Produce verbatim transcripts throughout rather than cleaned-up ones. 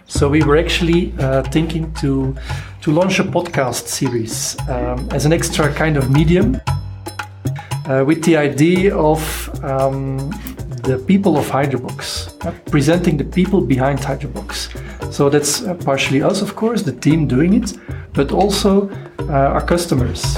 So we were actually uh, thinking to to launch a podcast series um, as an extra kind of medium uh, with the idea of um, the people of Hydrobox, uh, presenting the people behind Hydrobox. So that's uh, partially us, of course, the team doing it, but also uh, our customers.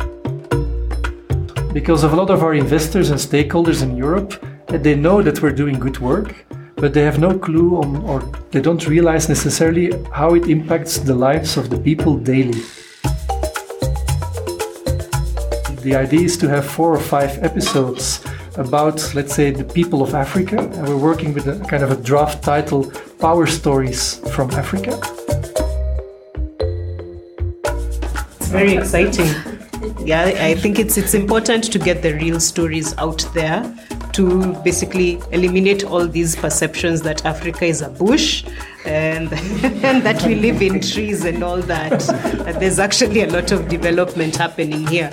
Because of a lot of our investors and stakeholders in Europe, they know that we're doing good work, but they have no clue on, or they don't realize necessarily how it impacts the lives of the people daily. The idea is to have four or five episodes about, let's say, the people of Africa, and we're working with a kind of a draft title, Power Stories from Africa. It's very exciting. Yeah, I think it's it's important to get the real stories out there to basically eliminate all these perceptions that Africa is a bush and, and that we live in trees and all that. That there's actually a lot of development happening here.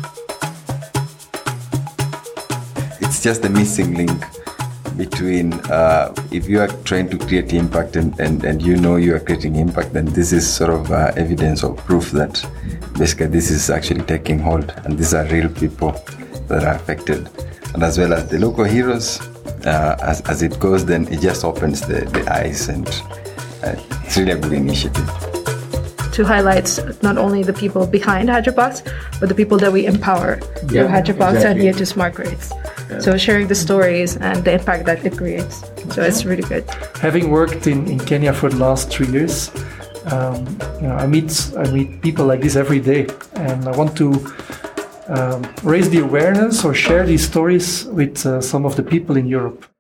It's just the missing link between uh, if you are trying to create impact and, and, and you know you are creating impact, then this is sort of uh, evidence or proof that basically this is actually taking hold and these are real people that are affected. And as well as the local heroes, uh, as, as it goes, then it just opens the, the eyes, and uh, it's really a good initiative. To highlight not only the people behind Hydrobox, but the people that we empower through yeah, Hydrobox exactly. and Here to Smart Grids. Yeah. So sharing the stories and the impact that it creates. So it's really good. Having worked in, in Kenya for the last three years, um, you know, I meet I meet people like this every day, and I want to Um, raise the awareness or share these stories with uh, some of the people in Europe.